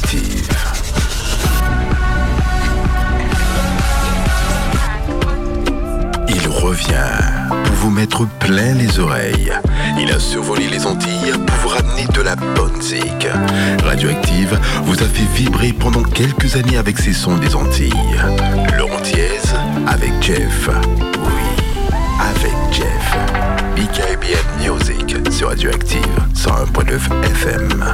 Radioactive. Il revient pour vous mettre plein les oreilles. Il a survolé les Antilles pour vous ramener de la bonne musique. Radioactive vous a fait vibrer pendant quelques années avec ses sons des Antilles. Le Antillaise avec Jeff. Oui, avec Jeff. BKBN Music sur Radioactive 101.9 FM.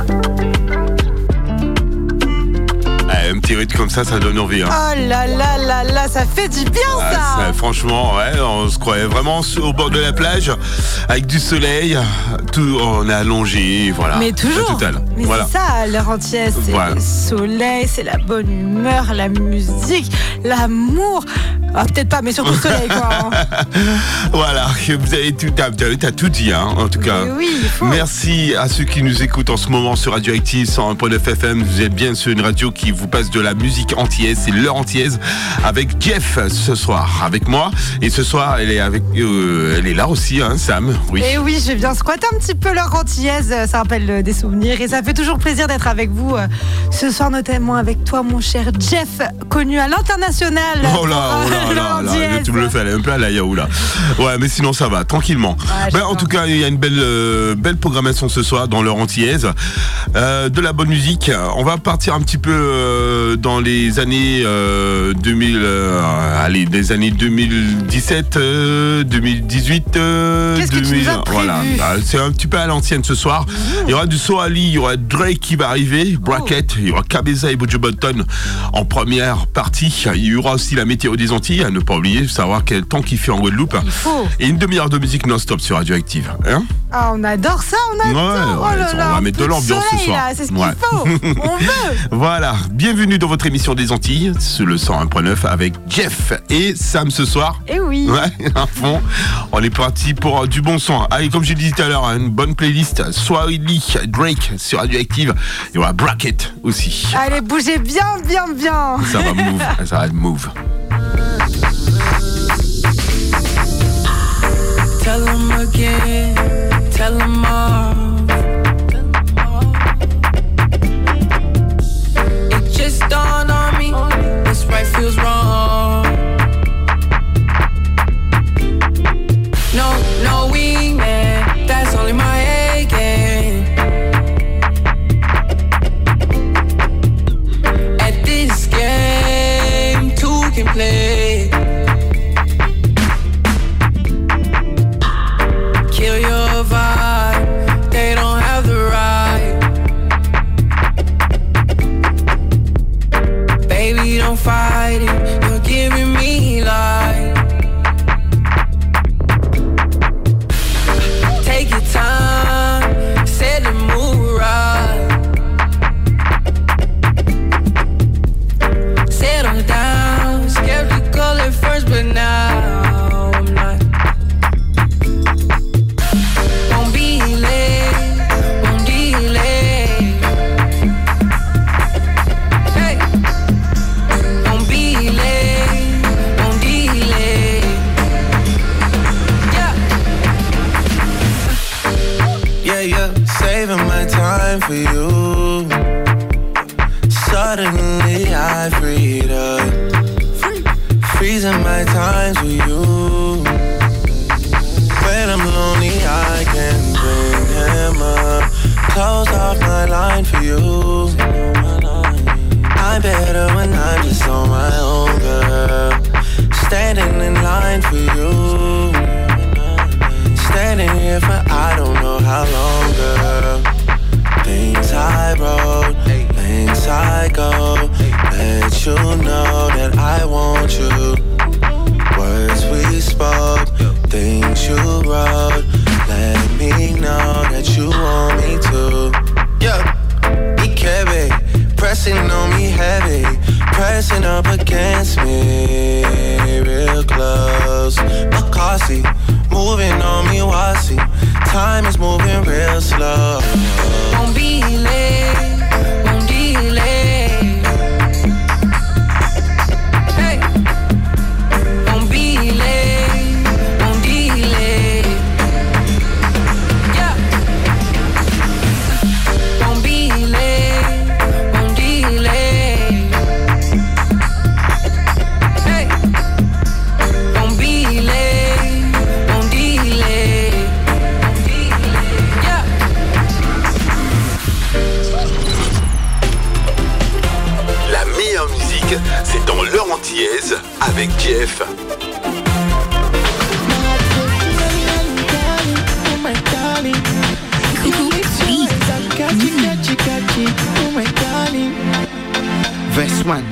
Un petit rythme comme ça donne envie. Hein. Oh là là là là, ça fait du bien ça. Franchement, ouais, on se croyait vraiment au bord de la plage, avec du soleil, tout, on est allongé, voilà. Mais toujours. Mais voilà. C'est ça, l'heure entière, c'est le soleil, c'est la bonne humeur, la musique, l'amour. Ah, peut-être pas, mais surtout le soleil, quoi. Hein. Voilà, vous avez t'as tout dit, hein, en tout cas. Oui, merci à ceux qui nous écoutent en ce moment sur Radioactive 101.9 FM. Vous êtes bien sur une radio qui vous passe de la musique antillaise, c'est l'heure antillaise avec Jeff ce soir, avec moi. Et ce soir, elle est là aussi, hein, Sam. Oui. Et oui, je viens squatter un petit peu l'heure antillaise, ça rappelle des souvenirs et ça fait toujours plaisir d'être avec vous ce soir, notamment avec toi, mon cher Jeff, connu à l'international. Oh là, tu me le fais aller un peu à la yaou là. Ouais, mais sinon ça va, tranquillement. Ouais, en tout cas, il y a une belle programmation ce soir dans l'heure antillaise. De la bonne musique. On va partir un petit peu dans les années 2000, des années 2017, 2018, Qu'est-ce 2000. Que tu nous as prévu ? Voilà, c'est un petit peu à l'ancienne ce soir. Il y aura du Soali, il y aura Drake qui va arriver, Bracket, il y aura Cabeza et Buju Banton en première partie. Il y aura aussi la météo des Antilles, à ne pas oublier, savoir quel temps qu'il fait en Guadeloupe. Et une demi-heure de musique non-stop sur Radioactive. Hein ? Ah, on adore ça, on adore. Oh là là, on va mettre de l'ambiance ce soir. Là, c'est ce qu'il faut. On veut. Voilà, bienvenue dans votre émission des Antilles sur le 101.9 avec Jeff et Sam ce soir. Et oui. Ouais, à fond. On est parti pour du bon son. Allez, comme j'ai dit tout à l'heure, une bonne playlist. Swahili, Drake sur Radioactive. Il y aura Bracket aussi. Allez, bougez bien. Ça va move. Tell them again, tell them all. It just dawned on me, this right feels wrong. No wingman, that's only my A game. At this game, two can play. Kill your vibe, they don't have the right. Baby, don't fight it, you're giving me life. Take your time, set the mood right. Settle down, skeptical at first, but now I'm not. Won't be late, won't delay. Hey, won't be late, won't delay. Yeah, saving my time for you. Suddenly I freed up, freezing my times with you. When I'm lonely I can bring him up, close off my line for you. I'm better when I'm just on my own, girl. Standing in line for you. Standing here for I don't know how long, girl. Things I wrote, things I go. Let you know that I want you. Words we spoke, things you wrote. Let me know that you want me to. Yeah, EKB, pressing on me heavy, pressing up against me, real close. Makasi,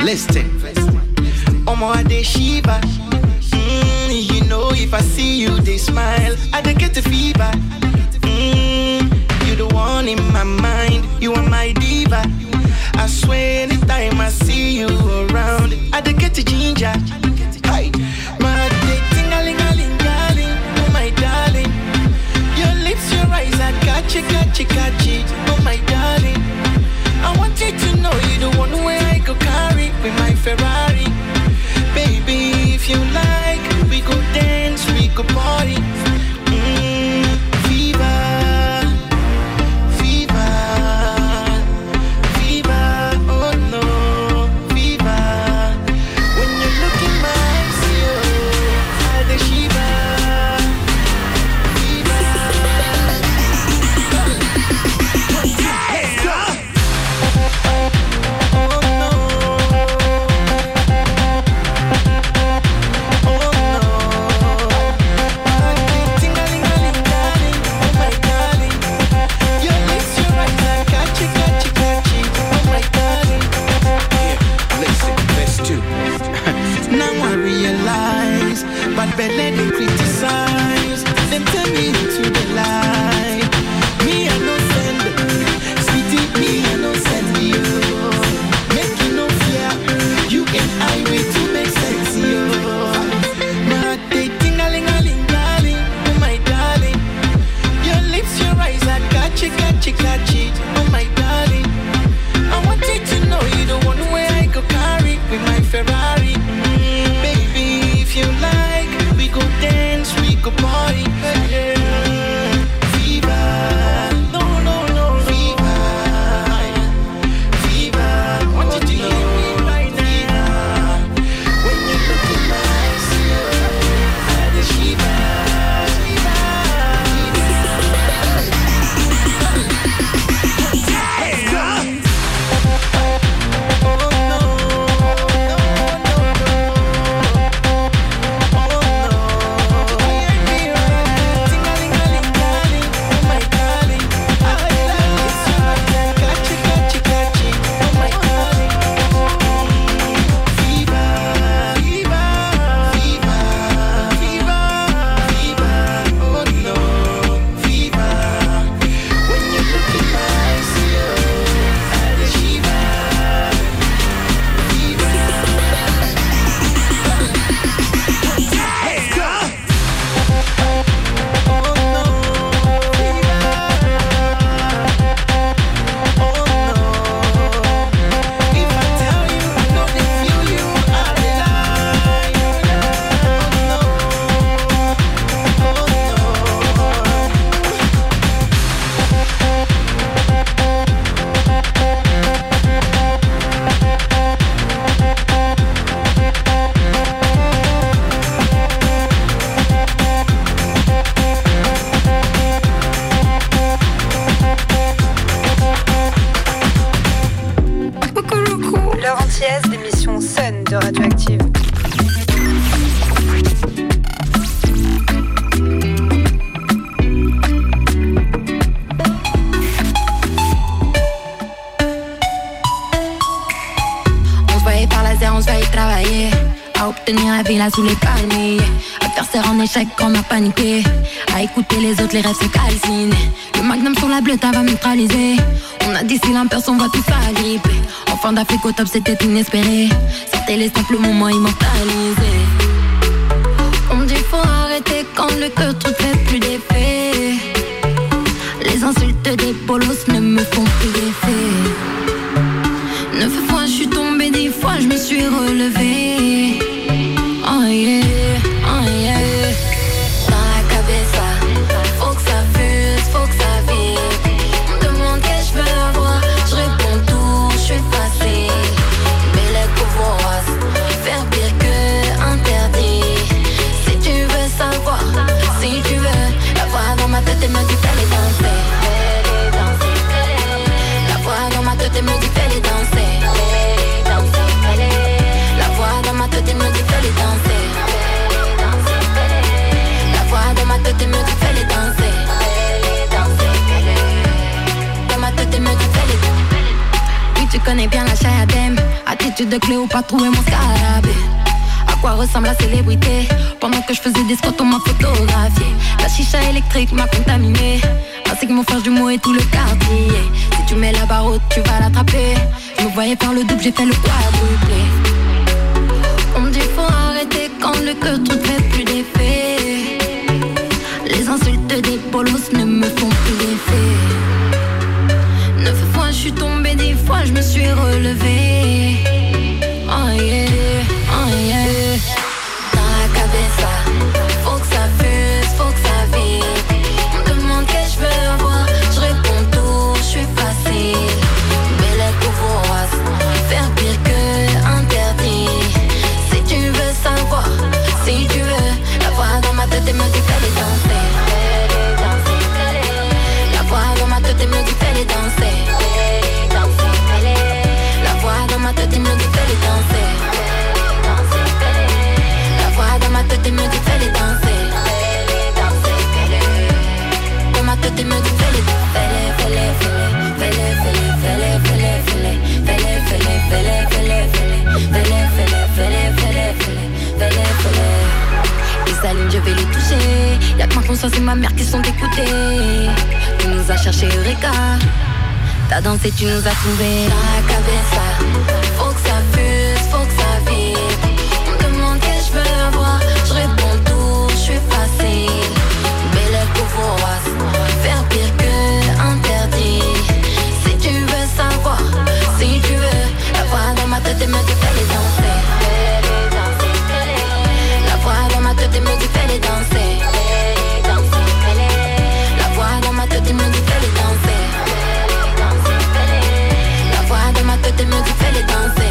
Listen. Omo I dey shiva. You know if I see you they smile, I dey get the fever. You the one in my mind, you are my diva. I swear anytime I see you around, I dey get the ginger. Hey, my dick ting-a-ling-a-ling-a-ling, oh my darling. Your lips, your eyes, I got you, oh my darling. I want you to know you the one where I go carry with my Ferrari. Baby, if you like, we go dance, we go party. Fever, fever, fever, oh no, fever. When you look in my eyes, I the shiver, fever. Let's go. But belly they criticize. Them tell me to the lie. Me I no send, sweetie me I no send you. Make you no fear, you and I wait to make sense you. My day ting-a-ling-a-ling-a-ling, oh my darling. Your lips, your eyes, I got you, oh my darling. I want you to know you the one where I go carry with my Ferrari. Baby, if you like, we go dance, we go party. Fever, no, fever, fever. Want you to hear me right now. When you look in my eyes, I the shiver, Let's go. L'émission Sun de Radioactive. On se voyait par laser, on se voyait travailler, à obtenir la villa sous les palmiers, à faire serre en échec quand on a paniqué, à écouter les autres, les rêves se calcinent. Le magnum sur la bleue, va neutraliser. On a d'ici l'imperce, on va tout s'agripper. En fin d'Afrique au top, c'était inespéré. C'était les simples moments immortalisés. On me dit faut arrêter quand le cœur tout fait plus d'effet. Les insultes des bolos ne me font plus d'effet. 9 fois je suis tombée, 10 fois je me suis relevée. Oh yeah, oh yeah. Dans la cabeza, faut que ça fuse, faut que ça vibre. On me demande qu'est-ce que je veux avoir, je réponds tout, je suis facile. Mais les pouvoirs, faire pire que interdit. Si tu veux savoir, si tu veux, la voix dans ma tête elle me dit fais les danser. La voix dans ma tête elle me dit fais les danser. La voix dans ma tête elle me dit fais les danser. La voix dans ma tête elle me dit fais les danser. Dans ma tête elle me dit fais les danser. Oui tu connais bien la Chayadem. Attitude de Cléopâtre, trouver mon scarabée. À quoi ressemble la célébrité? Pendant que je faisais des squats, on m'a photographié. La chicha électrique m'a contaminé, ainsi que mon frère jumeau et tout le quartier. Si tu mets la barre haute, tu vas l'attraper. Je me voyais faire le double, j'ai fait le quadruplé. On me dit faut arrêter quand le cœur ne fait plus d'effet. Les insultes des bolos ne me font plus d'effet. 9 fois je suis tombée, 10 fois je me suis relevée. Oh yeah, oh yeah. Dans la cabeza, faut que ça fuse, faut que ça vibre. On me demande que je veux avoir, je réponds tout, je suis facile. Belle couvreuse, faire pire que interdit. Si tu veux savoir, si tu veux, la voix dans ma tête et me dit fais les danser. La voix dans ma tête et me dit fais les danser. La voix dans ma tête et me dit fais les danser. La voix dans ma tête et me dit fais les danser. Dans ma tête et me dit fais les ils s'allument, je vais les toucher. Y'a que ma conscience et ma mère qui sont écoutées. Tu nous as cherché Eureka. T'as dansé, tu nous as trouvé. Dans la cabeza, faut que ça fuse, faut que ça vibre. On me demande que je veux avoir, je réponds tout, je suis facile. Belle couvreuse, faire pire que interdit. Si tu veux savoir, si tu veux, la voix dans ma tête et me dit fais les danser. La voix dans ma tête et me dit fais les danser. La voix dans ma tête et me dit fais les danser. La voix dans ma tête et me dit fais les danser.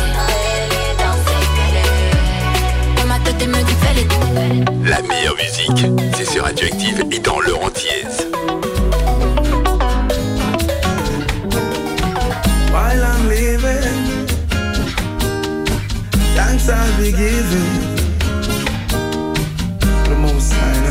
Dans ma tête et me dit fais les danser. La meilleure musique, c'est sur Radioactive et dans leur entièse. While I'm living, thanks I'll be giving. The most high.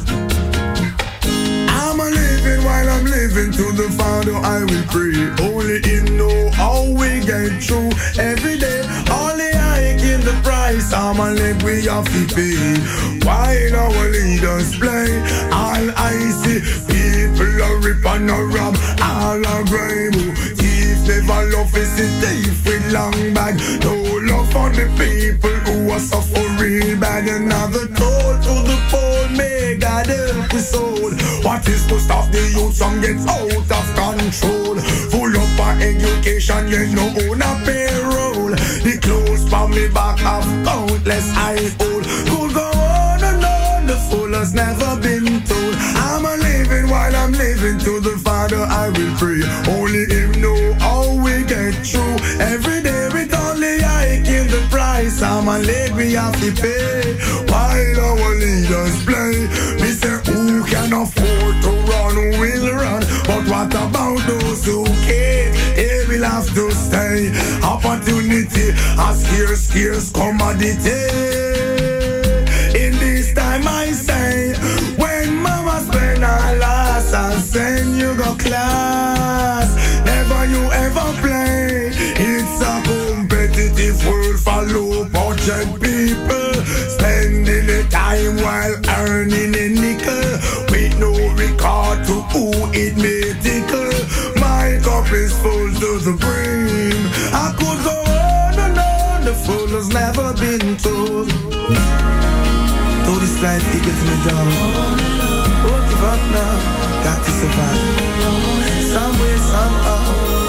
I'm a living while I'm living, to the Father I will pray. Only Him know how we get through every day. Only I give the price. I'm a live we have to pay. While our leaders play, all I see people are rip and a rob, all are grime. Never love is a thief with long bag. No love for the people who are suffering bad. Another toll to the poor, may God help us all. What is to stop the youth from get out of control? Full up our education, you know on a payroll. The clothes from me back have countless eye hole. Could go on and on, the fool has never been told. I'm a living while I'm living, to the Father I will pray. Only Him know how we get through every day. With only I give the price. I'm a leg we have to pay. While our leaders play, we say who can afford to run will run. But what about those who can't? They will have to stay. Opportunity a scarce commodity. In this time I say, when mama spend her last, I send you go class. Never you ever play. It's a competitive world for low budget people, spending the time while earning a nickel, with no regard to who it may tickle. My cup is full to the brim. I could go on and on, the fool has never been told. Though this life it gets me down, won't give up now, got to survive. Some way, somehow.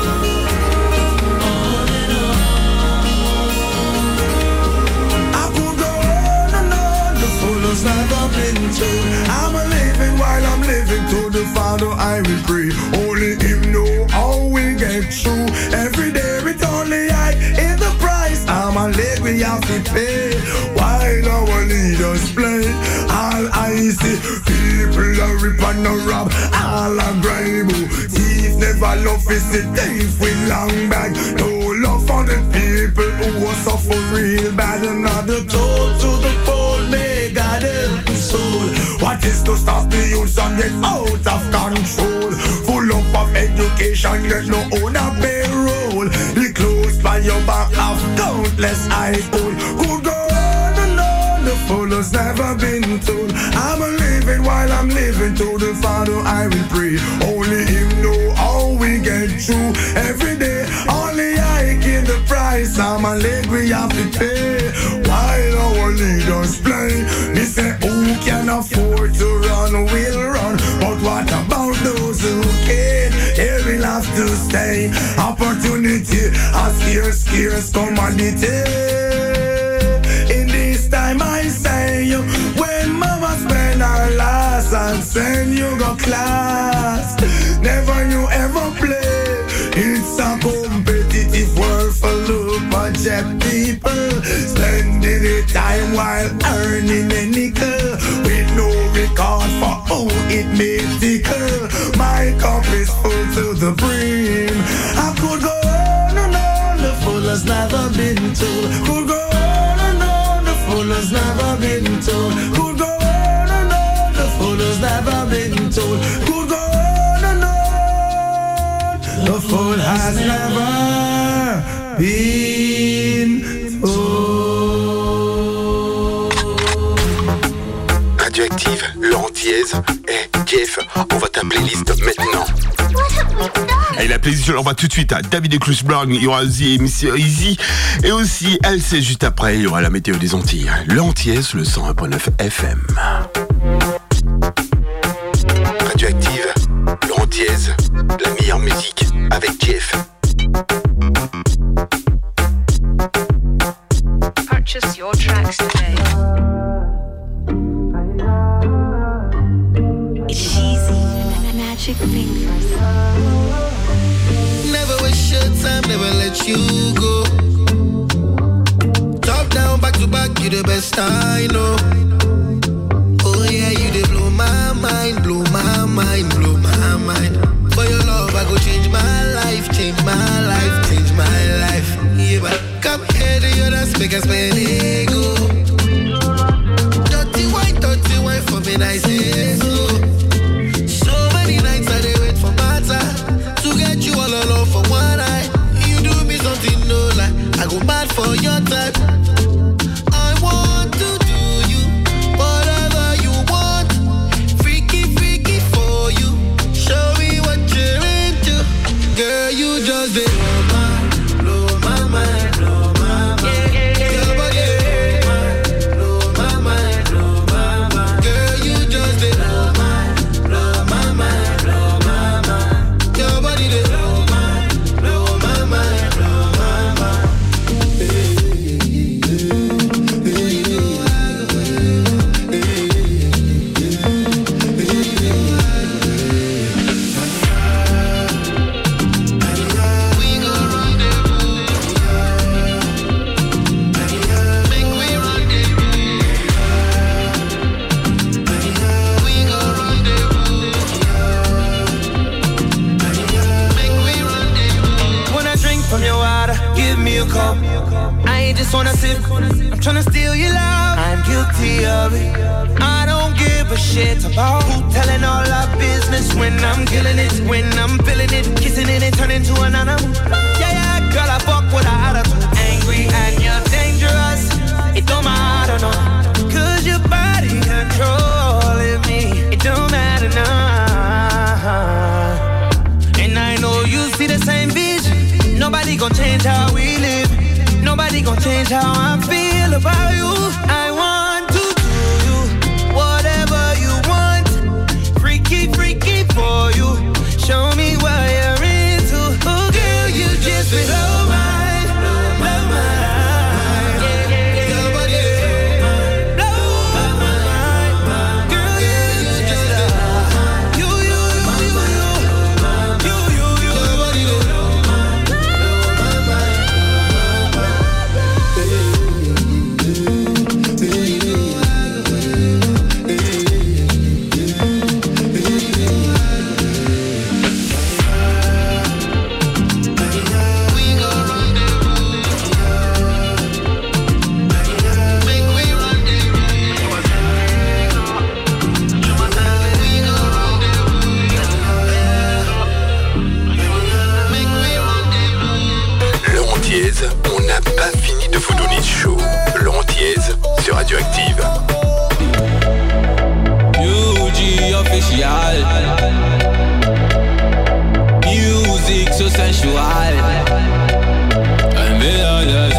I could go on and on, the fool has never been told. I'm a living while I'm living, to the Father I will pray. Only Him know how we get through every day. With only I in the price. I'm a leg we have to pay. While our leaders play, all I see people are rip and a rob, all are grime. Thief never love is the thief with long bag. No love for the people who are suffer real bad. Another toll to the poor, may God help the soul. What is to stop the youth and get out of control? Full up of education, get no own a payroll. The clothes limitless I hold. Could go on and on, the full has never been told. I'm a living while I'm living, to the Father I will pray. Only Him know how we get through every day. Only I give the price, I'm a leg we have to pay. While our leaders play, they say who can afford to run will run. But what about those who can't? They will have to stay. Opportunity, a scarce commodity. In this time I say you, when mama spend her last and send you go class, never you ever play. It's a competitive world full of budget people, spending the time while earning a nickel, with no regard for who it may tickle. My cup is full to the brim. I could go on and on, the full has never been told. Could go on and on, the full has never been told. Could go on and on, the full has never been told. Could go on and on, the full has never been told. Radioactive, Laurent Diez et Jeff, on va ta playlist maintenant. Et la playlist, on va tout de suite à David et Chris Brown, il y aura aussi Easy, et aussi LC juste après, il y aura la météo des Antilles. Laurent Diez, le 101.9 FM. Radioactive, Laurent Diez, la meilleure musique avec Jeff. Purchase your tracks today. It's easy, magic fingers. Never waste your time, never let you go. Top down, back to back, you the best I know. Oh yeah, you dey blow my mind, blow my mind, blow my mind. For your love, I go change my life, change my life, change my life. Yeah, but come here to your dance, make us spend ego. Dirty wine for me, nice and slow. So many nights I dey wait for my time to get you all alone for one night. You do me something no lie, I go mad for your type. I want to do you whatever you want. Freaky, freaky for you. Show me what you're into. Girl, you just did blow my mind, blow my mind. Your body, blow my mind, blow my mind. Girl, you just did blow my mind, blow my mind. Your body, blow my mind, blow my mind. From your water, give me a cup. I ain't just wanna sip, I'm tryna steal your love. I'm guilty of it. I don't give a shit about who telling all our business when I'm killing it, when I'm feeling it, kissing it and turning to an animal. Yeah, yeah, girl, I fuck with her attitude. Angry and you're dangerous. It don't matter, no. Cause your body controlling me. It don't matter, nah. And I know you see the same vision. Nobody gon' change how we live. Nobody gon' change how I feel about you. I want to do you whatever you want. Freaky, freaky for you. Show me what you're into. Oh girl, you just blow my mind. Your body blow my mind. Girl, you just you. Your body so sensual. And me all the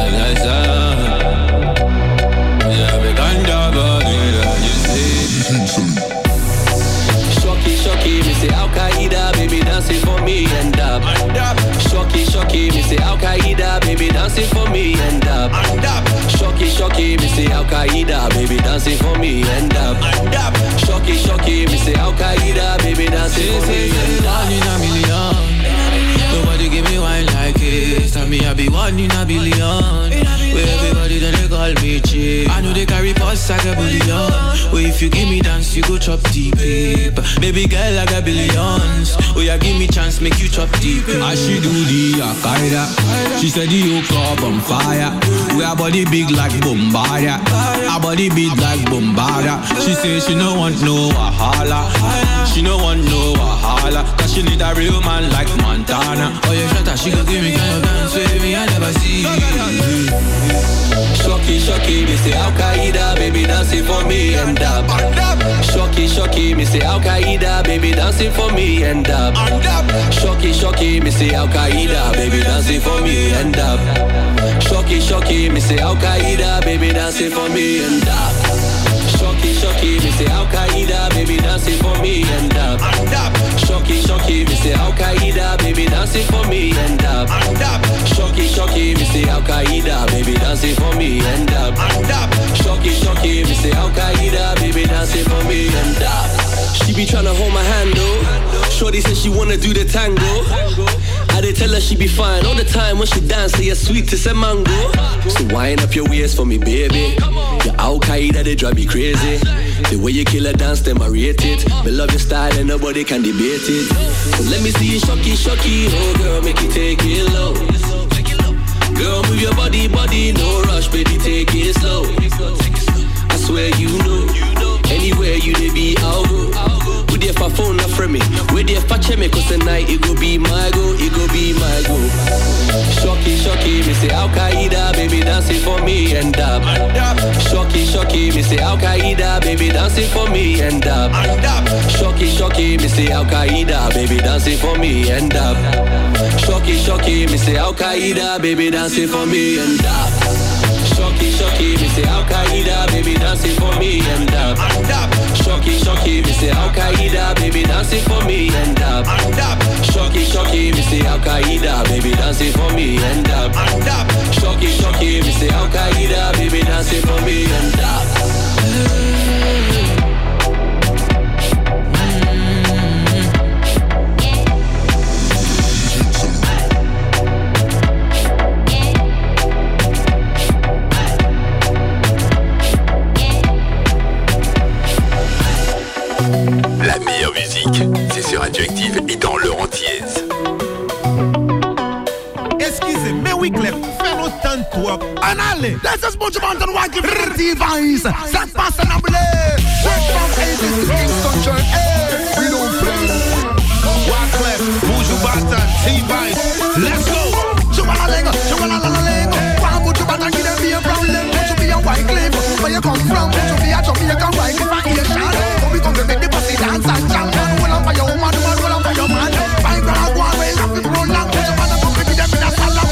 yeah, we can dab on it, you see. Shocky, me say Al-Qaeda, baby dancing for me and dab. Shocky, me say Al-Qaeda, baby dancing for me and dab. Shocky, me say Al-Qaeda, baby dancing for me and dab. Shocky, me say Al-Qaeda, baby dancing for me and dab. One in a million, nobody give me wine like it. Tell me I be one in a billion. Where everybody then they call me cheap. I know they carry pots like a billion. Where if you give me dance, you go chop deep. Baby girl, I got billions. Oh, yeah, give me chance, make you chop deep. As she do the Al-Qaeda, she said the whole club on fire. We our body big like Bombardier. Our body big like Bombardier. She say she no want no Wahala. She no want no Wahala. Cause she need a real man like Montana. Oh, yeah, shut up, she gon' give me kind of dance with me, I never see. Shocky, me say Al-Qaeda, baby dancing for me and dab. Shocky, me say Al-Qaeda, baby dancing for me and dab. Shocky, me say Al-Qaeda, baby dancing for me and dab. Shocky, me say Al-Qaeda, baby dancing for me and dab. Shocky, me say Al-Qaeda, baby dancing for me and dab. Shocky, me say Al-Qaeda, baby dancing for me and dab. Shocky, me say Al-Qaeda, baby dancing for me and dab. Shocky, me say Al-Qaeda, baby dancing for me and dab. She be tryna hold my hand though. Shorty said she wanna do the tango. I did tell her she be fine all the time when she dance, say you're sweet as a mango. So wind up your waist for me, baby. Your Al-Qaeda, they drive me crazy. The way you kill a dance, them I rate it. Me love your style and nobody can debate it. So let me see you shocky, oh girl, make it take it low. Girl, move your body, no rush, baby, take it slow. I swear you know, anywhere you dey be, I'll go. We there for phone, not from me. We there for check me, cause tonight it go be my go, it go be my go. Shocky, me say Al-Qaeda, baby dancing for me and dab. Shocky, me say Al-Qaeda, baby dancing for me and dab. Shocky, me say Al-Qaeda, baby dancing for me and dab. Shocky, me say Al-Qaeda, baby dancing for me and dab. Shocky, me say Al-Qaeda, baby dancing for me and dab. Shocky, me say Al-Qaeda, baby dancing for me and dab. Shocky, me say Al-Qaeda, baby dancing for me and dab. Shocky, me say Al-Qaeda, baby dancing for me and dab. La meilleure musique, c'est sur Radioactive et dans leur entièse. Excusez, mais oui, Clef, fais l'automne toi. En allez, laisse ce bon mountain white device. Ça passe en ablé. Straight from 80s to Kingston Church. Hey, we don't play. Wyclef, Buju Banton, T-Vice. Let's go. Chubala lengo. Why Buju Banton give them be a problem? Buju be a Wyclef. Where you come from? Buju be a Jamaican Wyclef. I hear shot. But we come to make the pussy dance and jump. Roll on for your woman, roll on for your man. Five grand one way, have to roll on. Buju Banton come to them in a salad.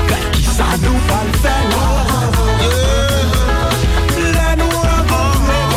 Ça nous va le faire.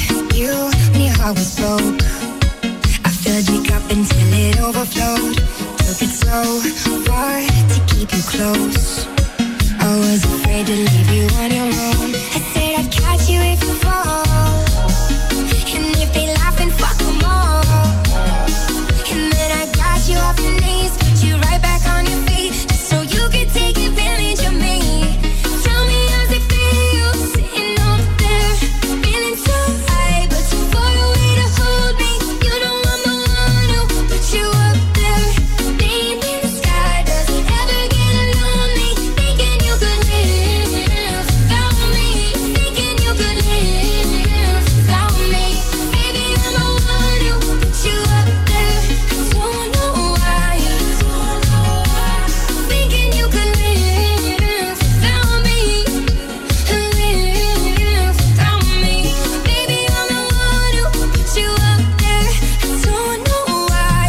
You, when your heart was broke, I filled your cup until it overflowed. Took it so far to keep you close. I was afraid to leave you on your own. I said I'd catch you if you fall. And if they laugh and fuck them all. And then I got you off your knees, put you right back on your feet, just so you could take advantage of me. Tell me how's it feel, sitting up there, feeling so high, but too far away to hold me. You know I'm the one who put you up there. Name in the sky, does it ever get lonely? Thinking you could live without me, thinking you could live without me. Baby, I'm the one who put you up there. Don't know why. Thinking you could live without me, live without me. Baby, I'm the one who put you up there. Don't know why.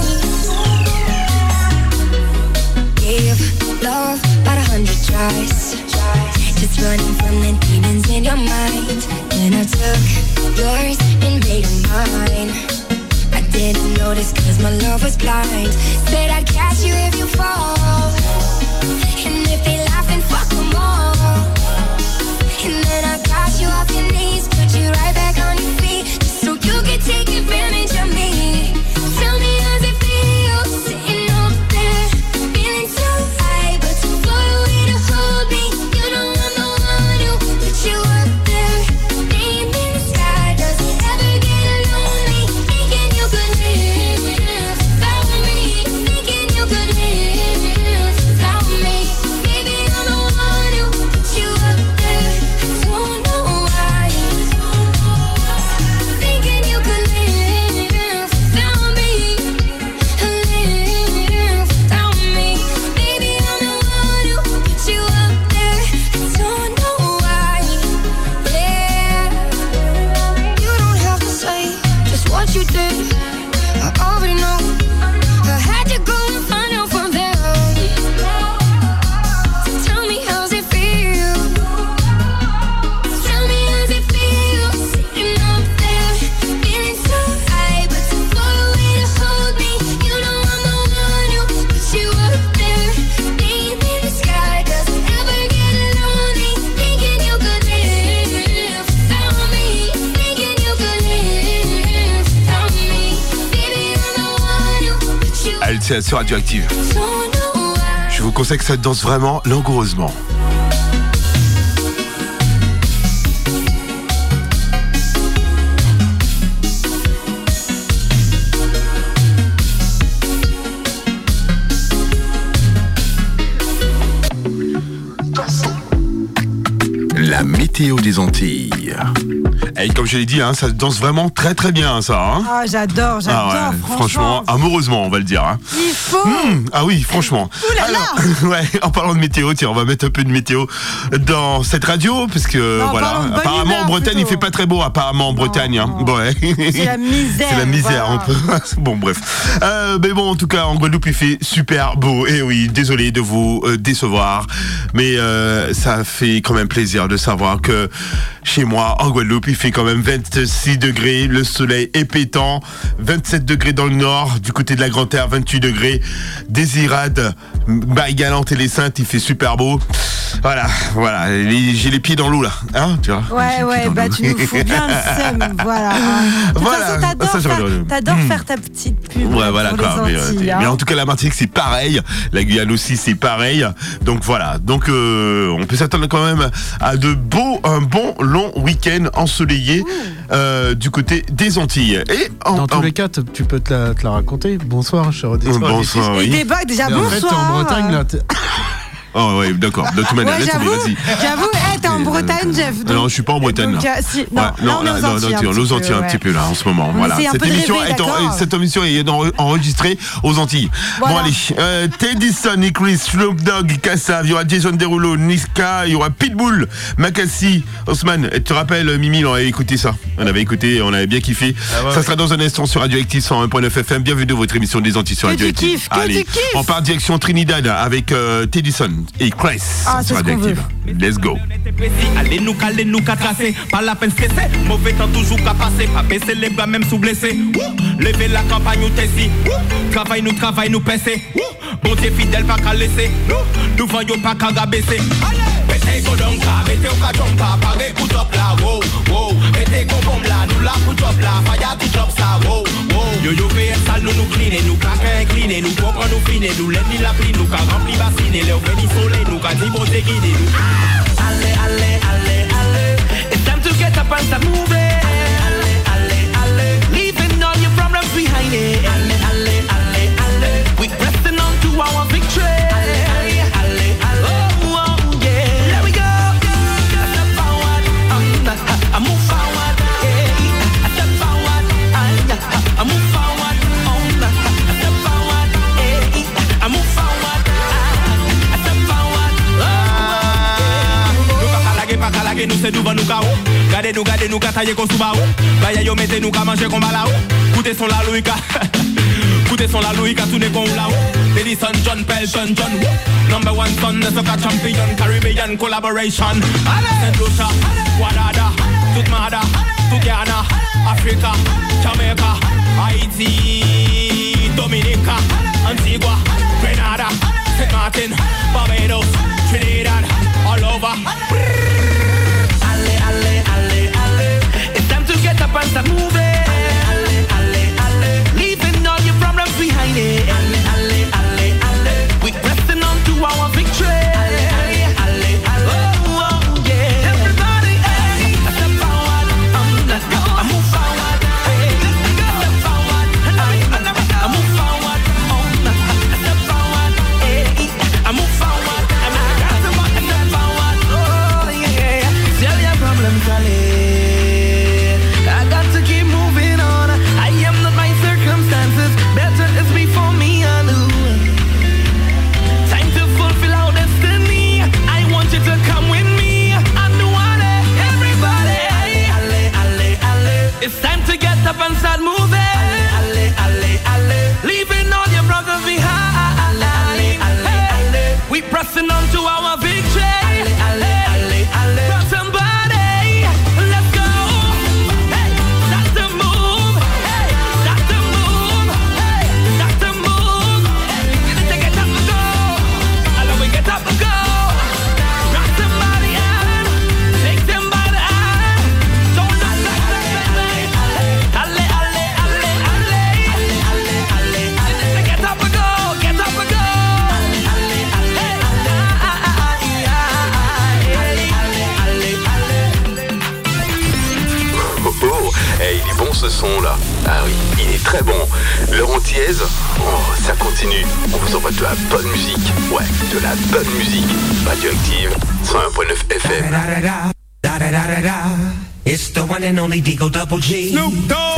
Gave love about 100 tries, just running from the demons in your mind. Then I took yours and made them mine. I didn't notice cause my love was blind. Said I'd catch you if you fall. And if they laugh and fuck them all. And then I got you off your knees, put you right back on your feet, just so you could take advantage of me. Tell me how's it feel, sitting up there, feeling so high, but too far away to hold me. You know I'm the one who put you up there. Name in the sky, does it ever get lonely? Thinking you could live without me, thinking you could live without me. Baby, I'm the one who put you up there. Don't know why. Thinking you could live without me, live without me. Baby, I'm the one who put you up there. Don't know why. Yeah, you don't have to say just what you did. I already know. I had to go and find out from them. So tell me how's it feel. Tell me how's it feel, sitting up there, feeling so high, but too far away to hold me. You know I'm the one who put you up there. Name in the sky, does it ever get lonely? Thinking you could live without me, thinking you could live without me. Baby, I'm the one who put you up Elle, c'est sur Radioactive. there. Don't know why. Je vous conseille que ça danse vraiment langoureusement. La météo des Antilles. Et comme je l'ai dit, hein, ça danse vraiment très très bien ça. Hein. Ah, j'adore, Ah ouais, franchement, amoureusement, on va le dire. Hein. Il faut. Ah oui, franchement. Ouh là là. Alors, ouais, en parlant de météo, tiens, on va mettre un peu de météo dans cette radio, parce que Non, voilà, parlons de bonne apparemment humeur, en Bretagne, plutôt. il fait pas très beau, apparemment en Bretagne. Hein. non. Ouais. C'est la misère. C'est la misère, voilà. on peut. Bon, bref. Mais bon, en tout cas, en Guadeloupe, il fait super beau. Et oui, désolé de vous décevoir, mais ça fait quand même plaisir de savoir que chez moi, en Guadeloupe, il fait quand même 26 degrés, le soleil est pétant, 27 degrés dans le nord, du côté de la Grande-Terre, 28 degrés, Désirade, Baille-Galante et les Saintes, il fait super beau. Voilà, j'ai les pieds dans l'eau là, hein, tu vois. Ouais, bah tu nous fous bien le seum, voilà. De toute Voilà. façon, Ça, t'adores faire ta petite pub. Ouais, voilà, pour quoi. les Antilles, Mais hein. en tout cas, la Martinique, c'est pareil. La Guyane aussi, c'est pareil. Donc voilà. Donc, on peut s'attendre quand même à un bon long week-end ensoleillé du côté des Antilles. Et dans tous les cas, tu peux te la raconter. Bonsoir, cher auditeur. Bonsoir, oui. Et des bugs, déjà, Et en fait, t'es bonsoir. en Bretagne, là. Oh ouais, d'accord. De toute manière, Ouais, laisse tomber, vas-y. j'avoue, t'es en Bretagne, Jeff. Non, je suis pas en Bretagne donc, là. si, non, Ouais, là, on est aux Antilles. aux Antilles un petit peu là en ce moment. On Voilà. essaie un peu de rêver, d'accord. Cette émission est enregistrée aux Antilles. Voilà. Bon allez, Teddyson, Nick Chris, Snoop Dogg, Kassav, il y aura Jason Derulo, Niska, il y aura Pitbull, Makassi, Osman. Tu te rappelles, Mimi, on avait écouté ça. On avait écouté, on avait bien kiffé. Ça sera dans un instant sur Radioactive 101.9 FM. Bienvenue de votre émission des Antilles sur Que tu Radioactive. kiffes, que Allez, tu kiffes. on part direction Trinidad avec Teddyson. et Chris sur Radioactive. Let's go. Allez nous caler, nous qu'à tracer. Pas la peine stresser. Mauvais temps toujours qu'à passer. Pas baisser les bras même sous blessé. Lever la campagne ou tessi. Travail nous passer. Bon Dieu fidèle pas qu'à laisser. Nous voyons pas qu'à rabaisser. Mettez go donc là, mettez au cachon pas. Paré pour top là, wow, wow. Mettez go bombe là, nous là pour top là. Faya tout top ça, wow, wow. Yo yo fait sale, nous cleaner, nous claquer incliner, nous comprend nous finer, nous l'aide ni la pli, nous qu'à rempli bassiner, les ouvrir ni soleil, nous qu'à dire bon Dieu guider nous. Allez, allez, allez, allez. It's time to get up and start moving. Allez, allez, allez. Leaving all your problems behind it. Allez, allez, allez, allez. We pressing on to our victory. Allez, allez, allez, allez. Oh, oh, yeah. There we go. Step forward. I move forward. Yeah. Step forward. I move forward. Step forward. Yeah. I move forward. Step forward. Pas calage, nous c'est devant nous cao. Gardez nous kataye qu'on souba ou. Baya yo mettez nous qu'à manger qu'on bala ou. Coutez son la louika. Coutez son la louika tourner qu'on la ou. Edison John Pelton John Woo. Number one son de soccer champion. Caribbean collaboration. Saint Lucia, Guadada, toute Mada, toute Ghana, Africa, Jamaica, Haiti, Dominica, Antigua, Grenada, Saint Martin, Barbados, Trinidad, all over. Allez, allez, allez. It's time to get up and start moving. Allez, allez, allez. Leaving all your problems behind it. Allez, allez, allez, allez. We pressing on to our victory. Allez, allez, allez, allez. Oh, oh, yeah. Everybody, hey. Step forward. Let's go. I move forward. Hey. Step forward. I move forward. Step forward. Hey. I move forward. Step forward. Oh, yeah. Tell your problems, I got to keep moving on. I am not my circumstances. Better is before me and you. Time to fulfill our destiny. I want you to come with me. I do want it, everybody. Allez, allez, allez. It's time to get up and start moving. Allez, allez, allez. Leaving all your brothers behind. Allez, allez, allez. We pressing on to our victory. Allez, allez, allez, allez. Grab somebody. Let's go. Hey, start to move. Hey, start to move. Hey, start to move. Hey, get up and go. Allow we get up and go. Grab somebody and take them by the hand. Don't look like that. Allez, allez, allez, allez. Allez, allez, allez. Get up and go. Get up and go. Allez, allez, Oh, hey, il est bon ce son là. Ah oui, il est très bon. L'heure antillaise, oh, ça continue. On vous envoie de la bonne musique. Ouais, de la bonne musique. Radioactive 101.9 FM. It's the one and only Digo Double G. Snoop Dogg.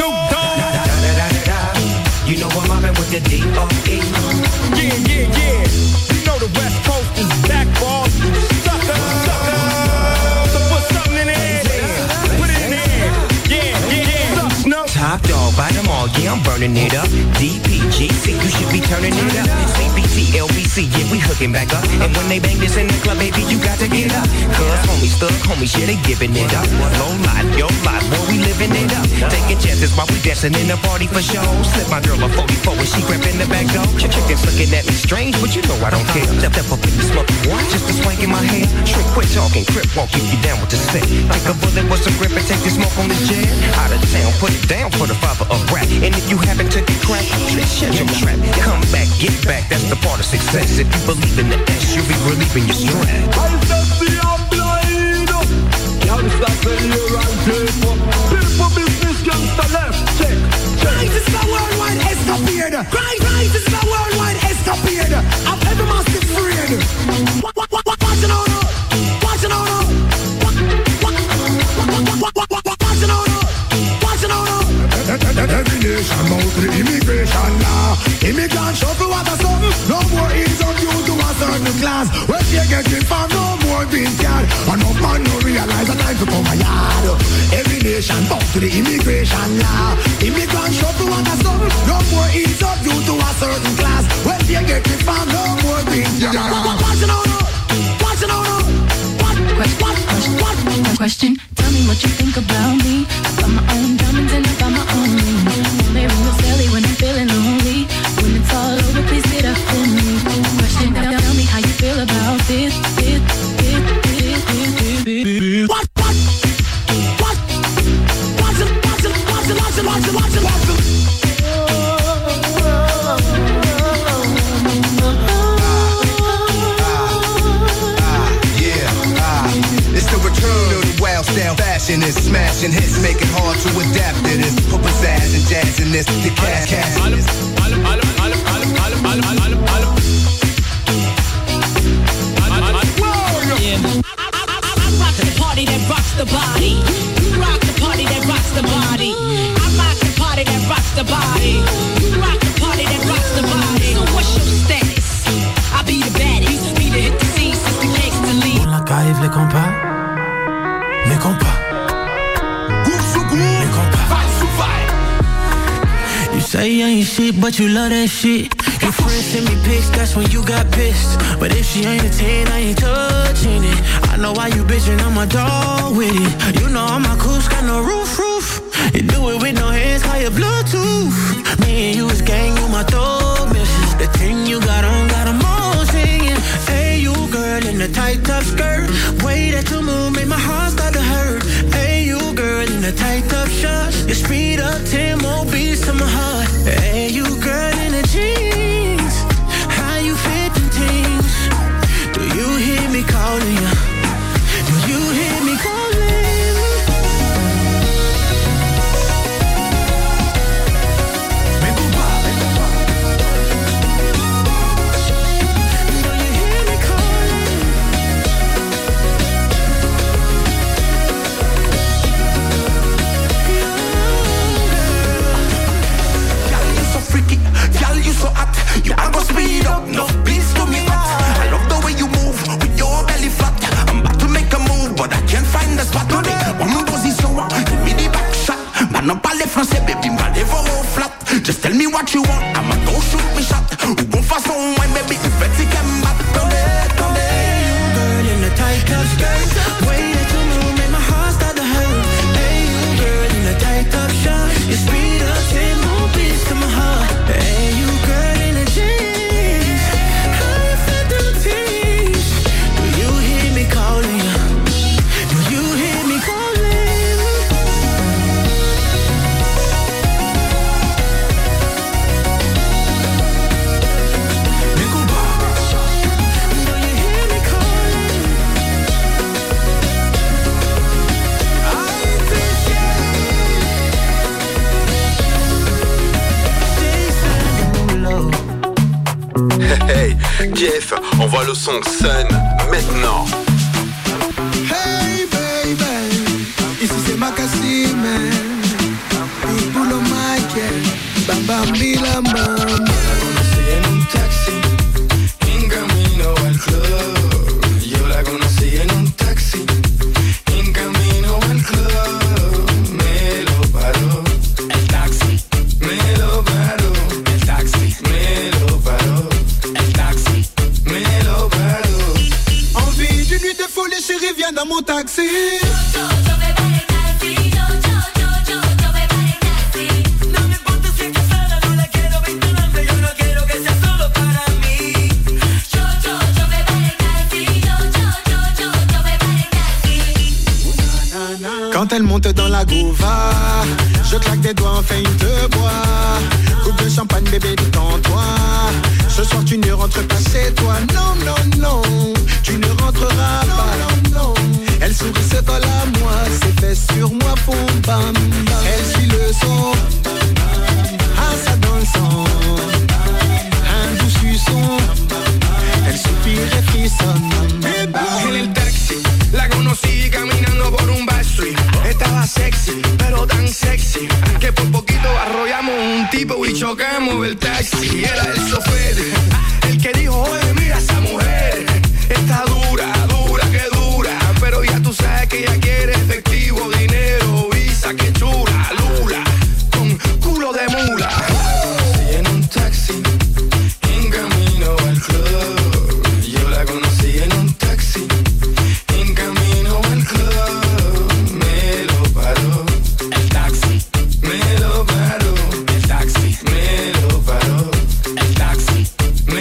You know I'm mobbing with the D.O.E. Yeah, yeah, yeah. You know the West Coast is back, boss. Sucker. So put something in there. Put it in there. Yeah. Snoop. Top dog, buy them all, yeah, I'm burning it up. DPGC, you should be turning it up. CBT, LBC, yeah, we hooking back up. And when they bang this in the club, baby, you got to get up. Cause homies, thug homies, yeah, they giving it up. Low life, yo life, boy, we living it up. Taking chances while we dancing in the party for show. Slip my girl a 44 when she grabbing the back door. Chickens looking at me strange, but you know I don't care. Step up in the smoke, just a swank in my hair. Trick, quit talking, crip walk, if you down with the set. Take a bullet with some grip and take the smoke on the jet. Out of town, put it down for the father of rap. And if you happen to get cracked, shut your trap. Come back, get back, that's the part of success. If you believe in the S, you'll be relieving your stress. I just see I'm blind. Can't stop saying you're on paper. People business gangster left. Check. Christ is the worldwide escapade. Christ is the worldwide escapade. I'm every massive afraid. Watch it on up. Watch it on up. Watch it on up. Watch it on up. Every nation bow to the immigration law. Immigrant shuffle what a something. No more income due to a certain class. When they get it from no more being scared. Enough man no realize the time to come a yard. Every nation bow to the immigration law. Immigrant shuffle what a something. No more income due to a certain class. When they get it from no more being scared. Watch it on up. Style fashion is smashing hits, make it hard to adapt to this. Put pizzazz and jazz in this, the cash in this. rock the party that rocks the body. You rock the party that rocks the body. I rock the party that rocks the body. You rock the party that rocks the body. So what's your status? I be the baddest. Be the hit the scene since the gangsta lead. On la caille, les compas. Les compas. Les compas. You say you ain't shit, but you love that shit. Your friends send me pics, that's when you got pissed. But if she ain't a 10, I ain't touching it. I know why you bitchin', I'm a dog with it. You know I'm a coos, got no roof. You do it with no hands, call your Bluetooth. Me and you is gang, you my dog missus. The thing you got on, got them all singing. Hey, you girl in the tight top skirt. Way that you move, made my heart start to hurt. Hey, you girl in the tight top shorts. You speed up 10 more beats to my heart. Hey, you girl in the jeans. How you fit them things? Do you hear me calling you? Do you hear me calling? So hot, you are gonna speed up, no beats to me hot. I love the way you move with your belly flat. I'm about to make a move, but I can't find the spot today. One position, give me the back shot. Man, no parle français, baby, m'allez voir au flat. Just tell me what you want, I'ma go shoot me shot. Ou bon façon, ouais, baby, il fait que qu'elle m'attendait. You girl in the tight top skirt, way that you move, make my heart start to hurt. Hey, you girl in the tight top shot, you speed up 10 more beats to my heart. Hey, you girl in the jeans, how you fit them things? Do you hear me calling you? Do you hear me calling? Nicoba, do you hear me calling? Hey, Jeff, envoie le son Sun maintenant. Hey baby, ici c'est Makassi man. Pulo Michael, Bambambi la mama. Conocí en un taxi, en camino al club. Yo la conocí en un taxi, en camino al club. Me lo paró el taxi, me lo paró el taxi, me lo paró el taxi, me lo paró. Envie d'une nuit de folie, chérie, viens dans mon taxi. Quand elle monte dans la gouva, je claque des doigts, enfin une te bois. Coupe de champagne, bébé, détends-toi. Ce soir tu ne rentres pas chez toi. Non, non, non, tu ne rentreras pas. Non, non. Elle sourit, se colle à moi, ses fesses sur moi font bam, bam. Elle suit le son, ah ça dans le sang. Un doux suçon, elle soupire et frissonne. En el taxi, la conocí caminando por un backstreet. Estaba sexy, pero tan sexy que por poquito arrollamos un tipo y chocamos el taxi. Era el chofer, el que dijo, oye, mira esa mujer. Está dura, dura, que dura. Pero ya tú sabes que ella quiere efectivo, dinero, visa, que chula, lula, con culo de mula. Conocí en un taxi, en camino al club. Yo la conocí en un taxi, en camino al club. Me lo paró el taxi, me lo paró el taxi, me lo paró el taxi,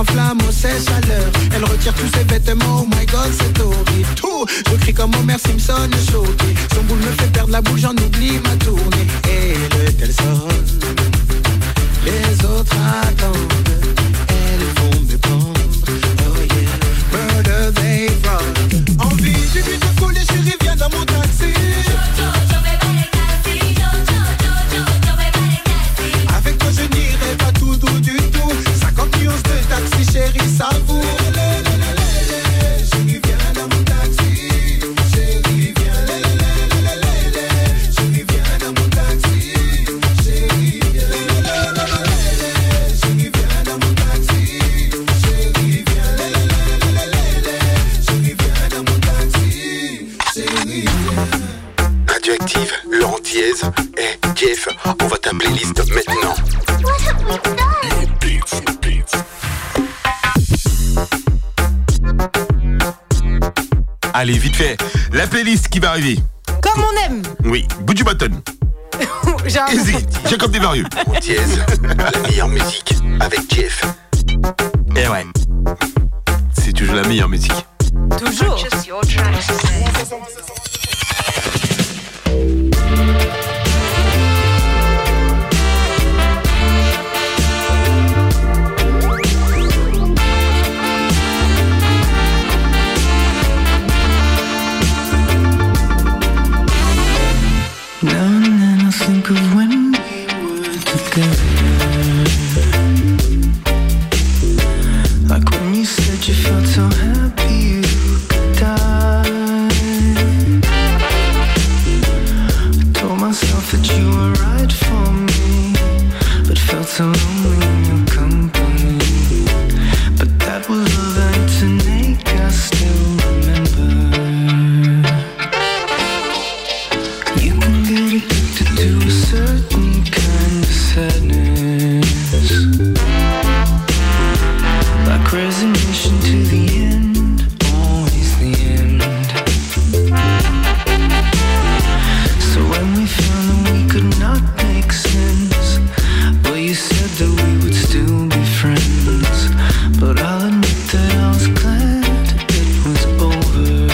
s'enflamme aux ses chaleurs. Elle retire tous ses vêtements, oh my god c'est horrible. Tout, je crie comme Homer Simpson choqué. Son boule me fait perdre la boule, j'en oublie ma tournée. Et le tel sonne, les autres attendent. Elles vont me prendre, oh yeah. Murder they run. Envie du but de couler, chérie viens dans mon taxi. Avec toi je n'irai pas tout doux du tout. 50 millions de taxi chérie savoure. Chérie viens dans mon taxi. Chérie viens chérie viens dans mon taxi. Chérie viens chérie viens dans mon taxi. Chérie viens chérie viens dans mon taxi. Chérie viens. Radioactive, Laurent Thiez et Jeff, on va ta playlist maintenant. Allez, vite fait, la playlist qui va arriver. Comme on aime. Oui, bout du button. Easy, Jacob Desvarieux. Thiez, la meilleure musique avec Jeff. Et ouais, c'est toujours la meilleure musique. Toujours. Purchase your tracks today. Now and then I think of when we were together. Like when you said you felt so happy you could die. I told myself that you were right for me, but felt so lonely in your company. But that was all that to make us still remember. You can get addicted to a certain kind of sadness, like resignation to the end, always the end. So when we found that we could not make sense, well you said that we would still be friends. But I'll admit that I was glad it was over.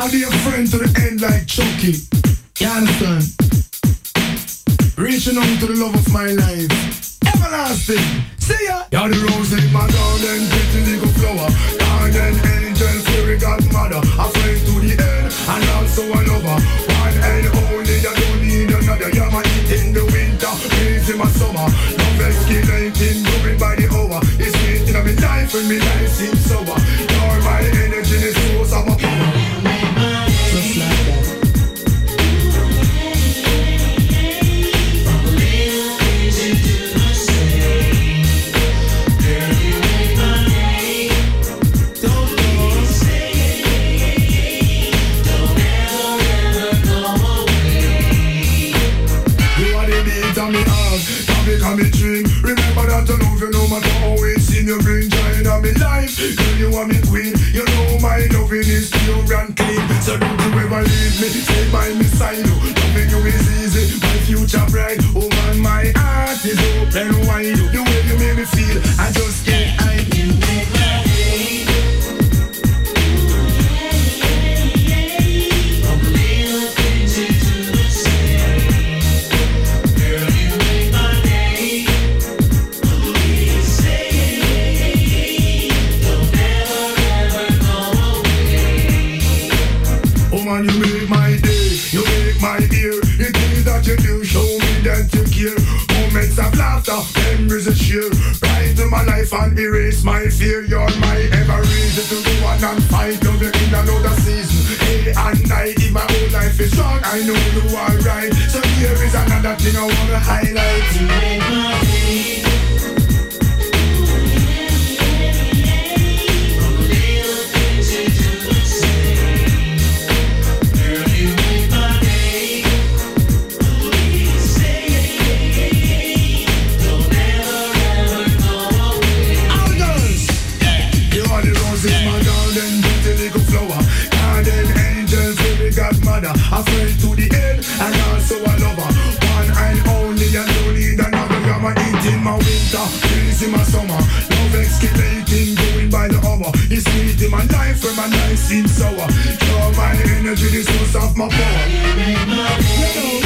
I'll be a friend to the end like Chucky. You understand? Reaching out to the love of my life. Everlasting. See ya. You're the rose in my garden, pretty little flower. Garden angel, fairy godmother. A friend to the end, and also a lover. One and only, I don't need another. You're my heat in the winter, breeze in my summer. Love escalating, moving by the hour. It's sweet in my life when my life seems sober. You're my energy, the source of my power. Just like that. Me dream. Remember that I love you no matter how it seems. You bring joy in my life. Girl, you are me queen. You know my loving is pure and clean. So don't you ever leave me. Stay by me side. Loving you is easy. My future bright. Oh man, my heart is open wide. The way you make me feel, I just can't hide. You make my day. You make my day, you make my year. The things that you do show me that you care. Moments of laughter, memories of cheer. Brighten my life and erase my fear. You're my ever reason to go on and fight. Love you in another season. Day and night, if my whole life is wrong, I know you are right. So here is another thing I wanna highlight. You make my day. A friend to the end, and also a lover. One and only, and don't need another. You're my heat in my winter, breeze in my summer. Love escalating, going by the hour. It's sweet in my life when my life seems sour. You're my energy, the source of my power. You make my day.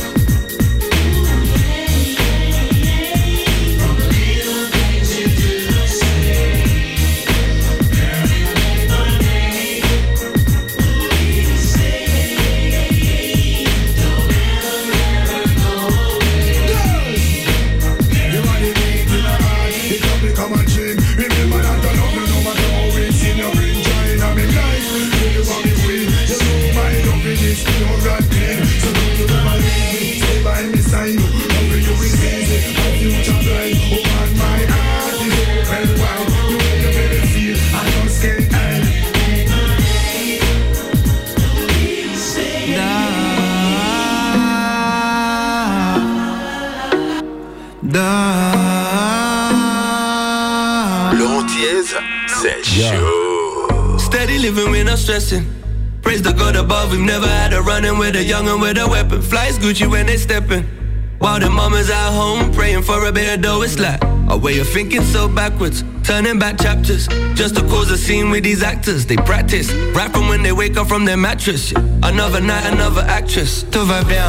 Steady living, we're not stressing. Praise the God above, we've never had a run-in with a young'un with a weapon. Flies Gucci when they steppin', while the mamas at home praying for a bit of dough. It's like a way of thinking so backwards, turning back chapters, just to cause a scene with these actors. They practice, rapping when they wake up from their mattress. Another night, another actress. Tout va bien,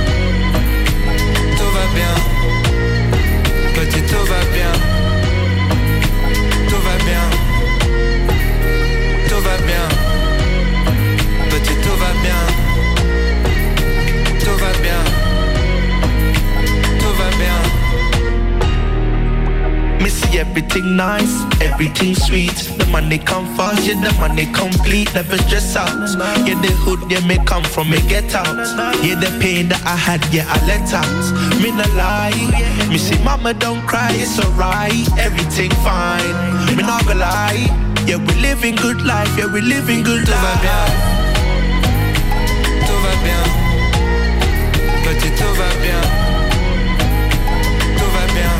tout va bien, petit tout va bien, tout va bien, tout va bien, petit tout va bien, tout va bien, tout va bien. Me see everything nice, everything sweet. The money come fast, yeah, the money complete. Never stress out. Yeah, the hood, yeah, me come from, me get out. Yeah, the pain that I had, yeah, I let out. Me no lie. Me see mama don't cry, it's alright. Everything fine. Me not gonna lie. Yeah, we living good life, yeah, we living good life. Tout va bien, petit tout va bien, tout va bien,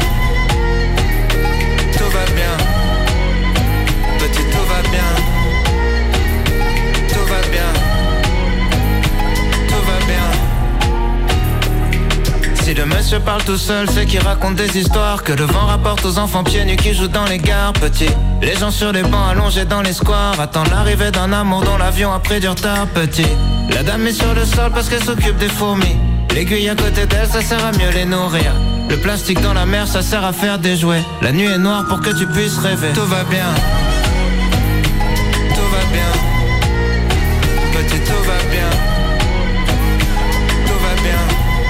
tout va bien, petit tout va bien, tout va bien, tout va bien. Si le monsieur parle tout seul, c'est qu'il raconte des histoires que le vent rapporte aux enfants pieds nus qui jouent dans les gares. Petit Les gens sur les bancs allongés dans les squares attendent l'arrivée d'un amour dont l'avion a pris du retard petit. La dame est sur le sol parce qu'elle s'occupe des fourmis. L'aiguille à côté d'elle, ça sert à mieux les nourrir. Le plastique dans la mer, ça sert à faire des jouets. La nuit est noire pour que tu puisses rêver. Tout va bien. Tout va bien. Petit, tout va bien. Tout va bien.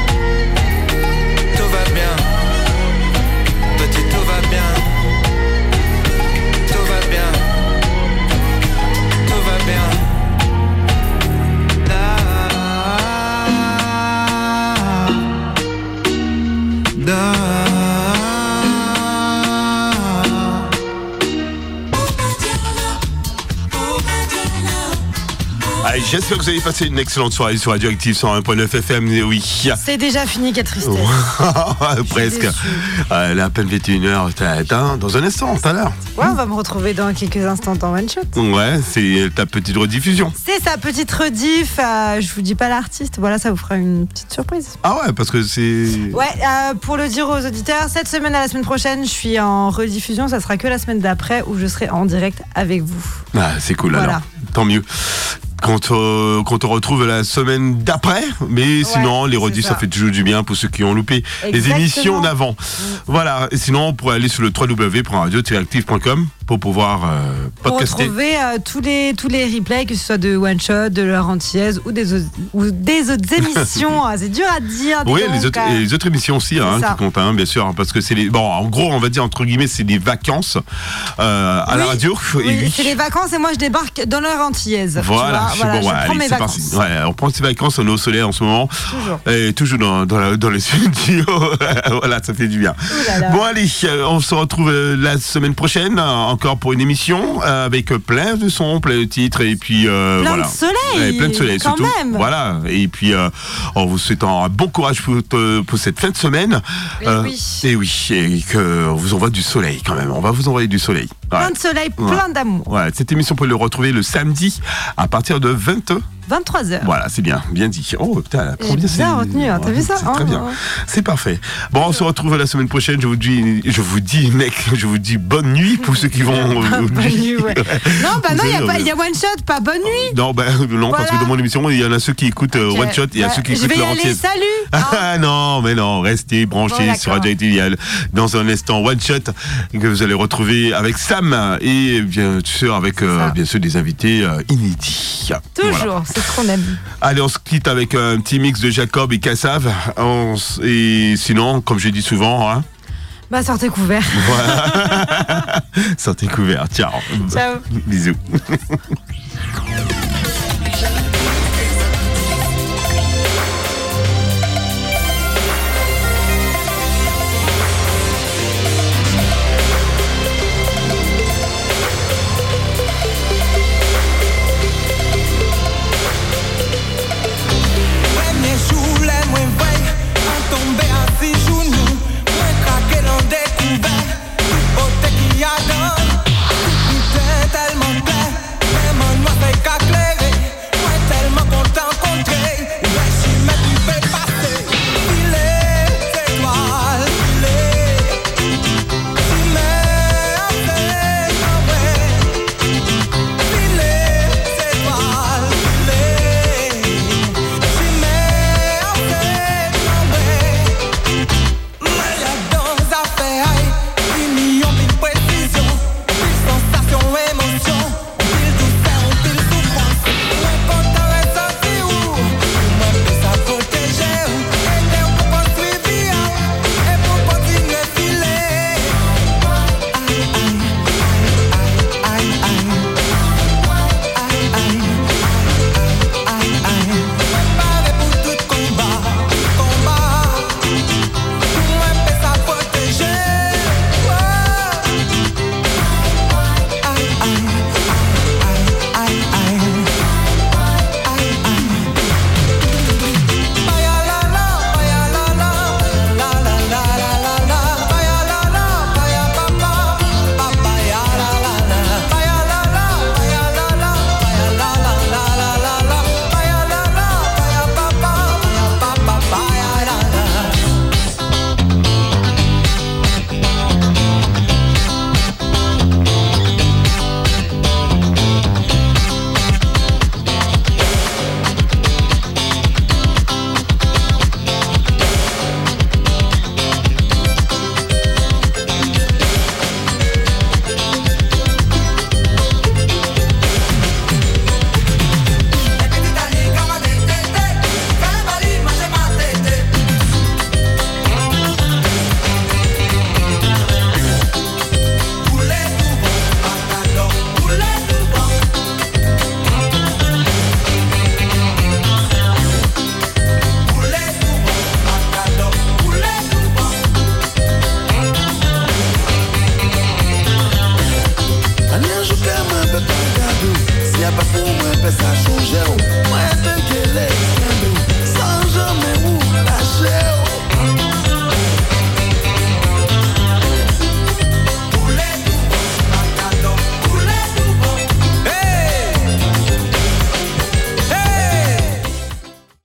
Tout va bien. Petit, tout va bien. Tout va bien. Tout va bien. Allez, j'espère que vous avez passé une excellente soirée sur Radioactive 101.9 FM. Oui. C'est déjà fini, quelle tristesse. Presque. Elle est à peine 21h. Dans un instant, tout à l'heure. Ouais, on va me retrouver dans quelques instants dans One Shot. Ouais, c'est ta petite rediffusion. C'est sa petite rediff. Je vous dis pas l'artiste. Voilà, ça vous fera une petite surprise. Ah ouais, parce que c'est... Ouais, pour le dire aux auditeurs, cette semaine à la semaine prochaine, je suis en rediffusion. Ça sera que la semaine d'après où je serai en direct avec vous. Ah, c'est cool, voilà. Alors. Tant mieux. Quand on retrouve la semaine d'après, mais sinon les rediffs ça fait toujours du bien pour ceux qui ont loupé les émissions d'avant. Voilà, et sinon on pourrait aller sur le www.radio-active.com pour pouvoir podcaster. Pour retrouver tous les replays, que ce soit de One Shot, de leur antillaise ou des autres émissions. C'est dur à dire. Oui, les autres émissions aussi qui comptent, bien sûr, parce que c'est les... Bon, en gros, on va dire entre guillemets, c'est des vacances à la radio. Oui, c'est les vacances et moi je débarque dans leur antillaise. Voilà. Voilà, je prends mes vacances. Ouais, on prend ses vacances, on est au soleil en ce moment. Et toujours dans les studios. Voilà, ça fait du bien. Bon, allez, on se retrouve la semaine prochaine, encore pour une émission, avec plein de sons, plein de titres, et puis plein de soleil. Plein de soleil, quand surtout. Même. Voilà, et puis en vous souhaitant un bon courage pour cette fin de semaine. Et qu'on vous envoie du soleil quand même. On va vous envoyer du soleil. Plein de soleil, plein d'amour. Ouais, cette émission, vous pouvez le retrouver le samedi à partir de 23h. Voilà, c'est bien dit. Oh putain, j'ai bien retenu, t'as vu ça? C'est très bien, c'est parfait. Bon, on se retrouve la semaine prochaine. Je vous dis bonne nuit pour ceux qui vont. Bonne nuit, ouais. Non, il y a One Shot, pas bonne nuit. Non, parce que dans mon émission, il y en a ceux qui écoutent One Shot, il y a ceux qui écoutent leur entière. Salut. Ah non, mais non, restez branchés sur Radioactive. Dans un instant, One Shot que vous allez retrouver avec Sam et bien sûr avec bien sûr des invités inédits. Toujours. Voilà. C'est ce qu'on aime. Allez, on se quitte avec un petit mix de Jacob et Kassav. Et sinon, comme je dis souvent, sortez couverts. Voilà. Sortez couverts. Ciao. Ciao. Bisous.